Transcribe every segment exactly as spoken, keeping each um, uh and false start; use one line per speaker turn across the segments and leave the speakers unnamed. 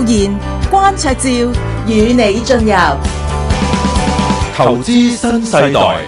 賢、關焯照與你進入
投資新世代。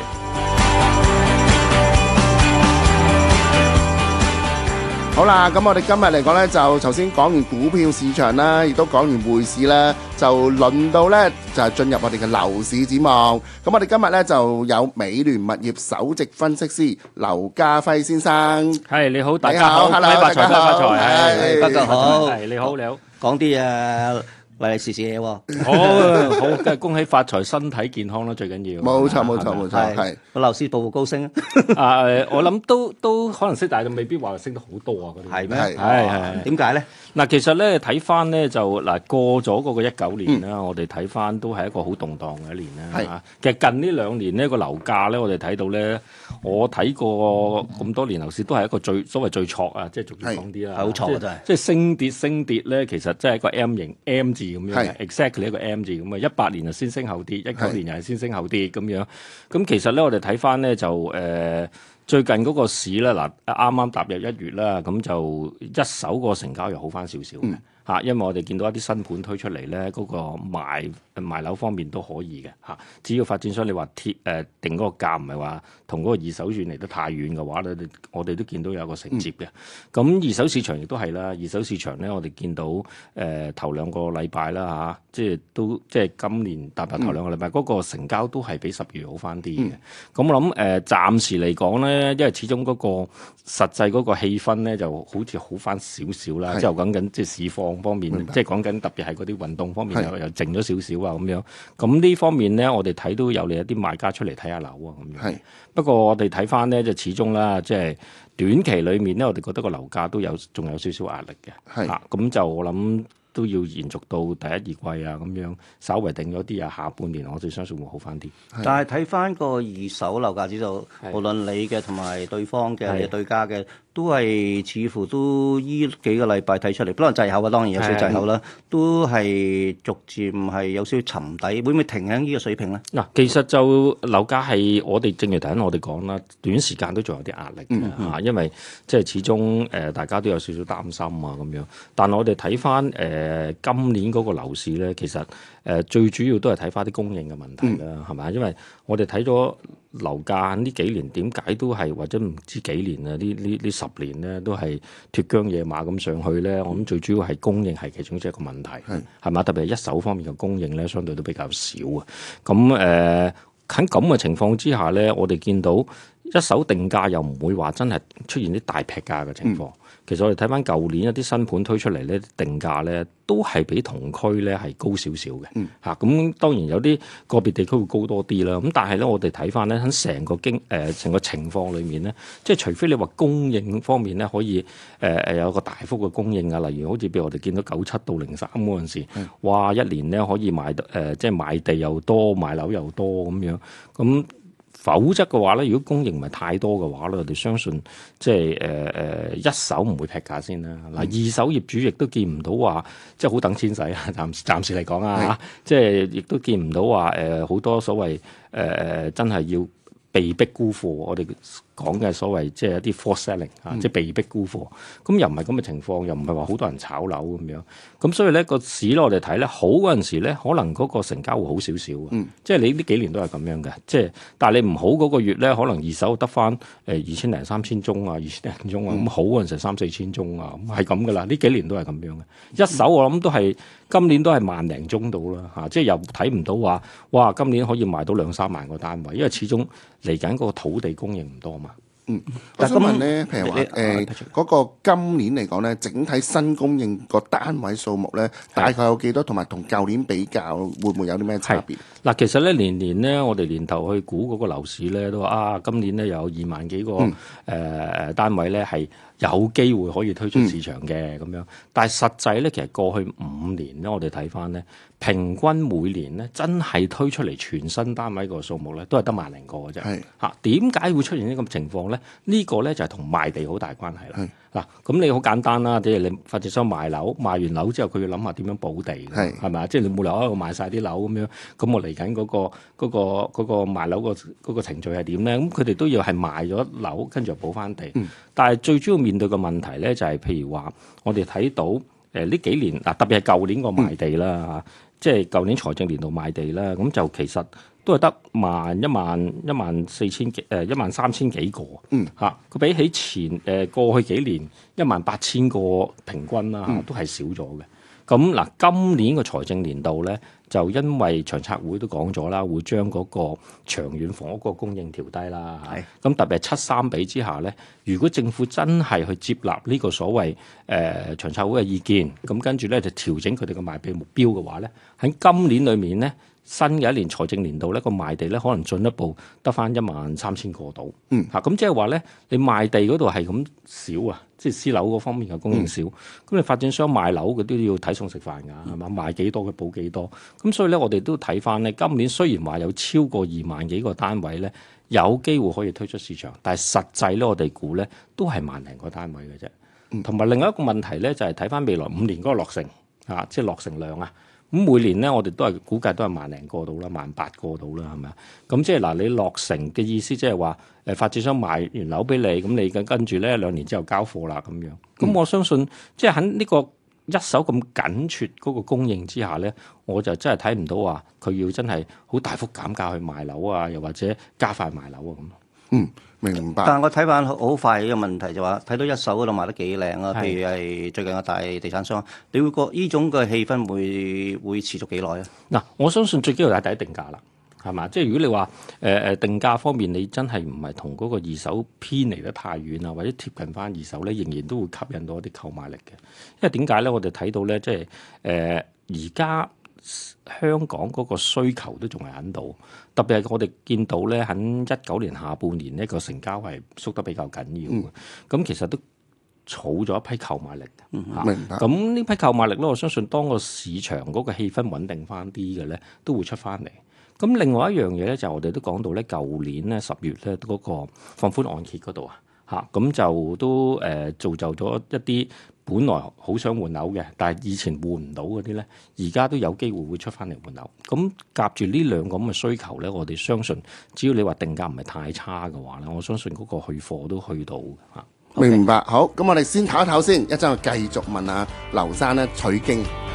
好啦，咁我哋今日嚟講呢，就頭先講完股票市場啦，亦都講完匯市啦，就輪到呢，就係進入我哋嘅樓市展望。咁我哋今日呢，就有美聯物業首席分析師劉嘉輝先生。
係，你好，大家好，
Hello，
恭喜發財，
大家好
恭喜發財，係，
大家好，
係，你好，你好，
講啲誒利利是是嘢喎。
好，好，梗係恭喜發財，身體健康啦，最緊要。
冇錯，冇錯，冇錯，係。
個樓市步步高升
啊！誒，我諗都都可能升，但係未必話升得好多啊。嗰啲
係咩？
係係
點解咧？
嗱，其實咧睇翻咧就嗱過咗嗰個一九年啦，我哋睇翻都係一個好動盪嘅一年啦。嚇，其實近呢兩年呢個樓價咧，我哋睇到咧，我睇過咁多年樓市都係一個最所謂最挫啊，即係逐漸講啲啦，
好挫啊真係。
即係升跌升跌咧，其實即係一個 M 型 M 字咁樣嘅 exactly 一個 M 字咁啊。一八年就先升後跌，一九年又係先升後跌咁樣。咁其實咧，我哋睇翻咧就誒、呃、最近嗰個市咧嗱，啱啱踏入一月啦，咁就一手個成交又好翻少少嘅嚇，因為我哋見到一啲新盤推出嚟咧，嗰、嗰個賣賣樓方面都可以嘅嚇。只要發展商你話貼誒定嗰個價唔係話同嗰個二手轉嚟得太遠嘅話咧，我哋都見到有個承接嘅。咁、嗯、二手市場亦都係啦，二手市場咧我哋見到誒、呃、頭兩個禮拜啦嚇，即係都即係今年踏入頭兩個禮拜嗰、嗯、個成交都係比十月好翻啲嘅。咁、嗯、我諗誒、呃、暫時嚟講咧，因為始終嗰個實際嗰個氣氛咧就好似好翻少少啦，即係講緊即係市況方面，即係講緊特別係嗰啲運動方面又又靜咗少少啊咁樣。咁呢方面咧，我哋睇到有嚟一啲賣家出嚟睇下樓啊咁樣。不過我哋睇翻咧，就始終啦，即係短期裡面咧，我哋覺得個樓價都有仲有少少壓力嘅。係啊，咁就我諗都要延續到第一二季啊咁樣，稍微定咗啲啊，下半年我哋相信會好翻啲。
但係睇翻個二手樓價指數，無論你嘅同埋對方嘅你對家嘅，都係似乎都依幾個禮拜睇出嚟，可能滯後啊，當然有少少滯後啦，都係逐漸係有少少沉底，會唔會停喺呢個水平咧？
嗱，其實就樓價係我哋正如頭先我哋講啦，短時間都仲有啲壓力嘅嚇、嗯嗯，因為即係始終誒、呃、大家都有少少擔心啊咁樣。但係我哋睇翻誒今年嗰個樓市咧，其實誒、呃、最主要都係睇翻啲供應嘅問題啦，係、嗯、咪？因為我哋睇咗樓價呢幾年點解都係或者唔知幾年啊？呢呢呢十年咧都係脫韁野馬咁上去咧。我諗最主要係供應係其中一個問題，係嘛？特別係一手方面嘅供應咧，相對都比較少啊。咁誒喺咁嘅情況之下咧，我哋見到一手定價又唔會話真係出現啲大劈價嘅情況。嗯、其實我哋睇翻舊年一啲新盤推出嚟咧，定價咧都係比同區咧係高少少嘅。嚇、嗯，咁、啊、當然有啲個別地區會高多啲啦。咁但係咧，我哋睇翻咧喺成個經誒成、呃、個情況裏面咧，即係除非你話供應方面咧可以誒誒、呃、有一個大幅嘅供應啊，例如好似譬如我哋見到九七到零三嗰陣時，嗯、哇一年咧可以賣得誒、呃、即係買地又多，買樓又多咁樣咁。否則嘅話咧，如果供應唔係太多嘅話咧，我哋相信即係誒誒一手唔會劈價先啦。嗱、嗯，二手業主亦都見唔到話即係好等錢使啊。暫暫時嚟講啊，嚇，即係亦都見唔到話誒好多所謂誒誒、呃、真係要被逼沽貨。我哋講嘅所謂即係一啲 forced selling 啊、嗯，即係被逼沽貨。咁又唔係咁嘅情況，又唔係話好多人炒樓咁樣。咁所以咧個市咧，我哋睇咧好嗰陣時咧，可能嗰個成交會好少少嘅。嗯、即係你呢幾年都係咁樣嘅。即係但係你唔好嗰個月咧，可能二手得翻誒二千零三千宗啊，二千零宗啊。咁、嗯、好嗰陣時三四千宗啊，咁係咁噶啦。呢幾年都係咁樣嘅。一手我諗都係今年都係萬零宗到啦嚇。即係又睇唔到話哇，今年可以賣到兩三萬個單位，因為始終嚟緊嗰個土地供應唔多嘛。
嗯，我想問咧，譬如話誒嗰個今年嚟講咧，整體新供應個單位數目咧，大概有幾多？同埋同舊年比較，會唔會有啲咩差別？
嗱，其實咧年年咧，我哋年頭去估嗰個樓市咧，都話啊，今年咧有二萬幾個誒誒、嗯呃、單位咧係有機會可以推出市場嘅咁、嗯、樣。但係實際咧，其實過去五年咧，我哋睇翻咧，平均每年咧真係推出嚟全新單位個數目咧，都係得萬零個嘅啫。係嚇，點解會出現呢個情況咧？呢、這個咧就係同賣地好大關係啦。嗱，咁你好簡單啦，即係你發展商賣樓，賣完樓之後，佢要諗下點樣補地，係係咪啊？即係你冇理由喺度賣晒啲樓咁樣，咁我嚟緊嗰個嗰、嗰個嗰、嗰個賣樓個嗰個程序係點咧？咁佢哋都要係賣咗樓，跟住又補翻地。嗯、但係最主要面對嘅問題咧，就係、係、譬如話，我哋睇到。 誒呢幾年嗱，特別係舊年個賣地啦嚇，嗯、即係舊年財政年度賣地啦，咁就其實都係得萬一萬一萬四千幾誒一萬三千幾個，嗯嚇，佢比起前誒過去幾年一萬八千個平均啦嚇，都係少咗嘅。咁嗱，今年個財政年度咧，就因為長策會都講咗啦，會將嗰個長遠房屋個供應調低啦。係咁是特別係七三比之下咧，如果政府真係去接納呢個所謂誒、呃、長策會嘅意見，咁跟住咧就調整佢哋嘅賣地目標嘅話咧，喺今年裏面咧，新嘅一年財政年度咧個賣地咧可能進一步得返一萬三千個度。嗯，嚇咁即係話咧，你賣地嗰度係咁少啊，即係私樓嗰方面嘅供應少，咁、嗯、你發展商賣樓佢都要睇餸食飯㗎，係嘛？賣幾多佢補幾多。咁所以咧，我哋都睇翻咧，今年雖然話有超過二萬幾個單位咧，有機會可以推出市場，但係實際咧，我哋估咧都係萬零個單位嘅啫。同埋、嗯、另外一個問題咧，就係睇翻未來五年嗰個落成啊，即係落成量啊。咁每年咧，我哋都係估計都係萬零個到啦，萬八個到啦，係咪啊？咁即係嗱，你落成嘅意思即係話誒發展商賣完樓俾你，咁你跟跟住咧兩年之後交貨啦咁樣。咁、嗯、我相信即係喺呢個一手咁緊缺嗰個供應之下咧，我就真係睇唔到話佢要真係好大幅減價去賣樓啊，又或者加快賣樓啊咁。
嗯，明白。
但係我睇翻好快嘅問題就話，睇到一手嗰度賣得幾靚啊，譬如係最近嘅大地產商，你會覺呢種嘅氣氛會會持續幾耐啊？嗱，
我相信最緊要係第一定價啦。係嘛？即係如果你話誒誒定價方面，你真係唔係同嗰個二手偏離得太遠啊，或者貼近翻二手咧，仍然都會吸引到一啲購買力嘅。因為點解咧？我哋睇到咧，即係誒而家香港嗰個需求都仲係喺度，特別係我哋見到咧，喺一九年下半年呢個成交係縮得比較緊要嘅。咁、嗯、其實都儲咗一批購買力嘅。嗯、明白。咁呢批購買力咧，我相信當個市場嗰個氣氛穩定翻啲嘅咧，都會出翻嚟。咁另外一樣嘢咧，就我哋都講到咧，舊年咧十月咧嗰個放寬按揭嗰度啊，嚇咁就都誒造就咗一啲本來好想換樓嘅，但係以前換唔到嗰啲咧，而家都有機會會出翻嚟換樓。咁夾住呢兩個咁嘅需求咧，我哋相信只要你話定價唔係太差嘅話咧，我相信嗰個去貨都去到嚇。
明白，好，咁我哋先唞一唞先，一陣我繼續問下劉生咧取經。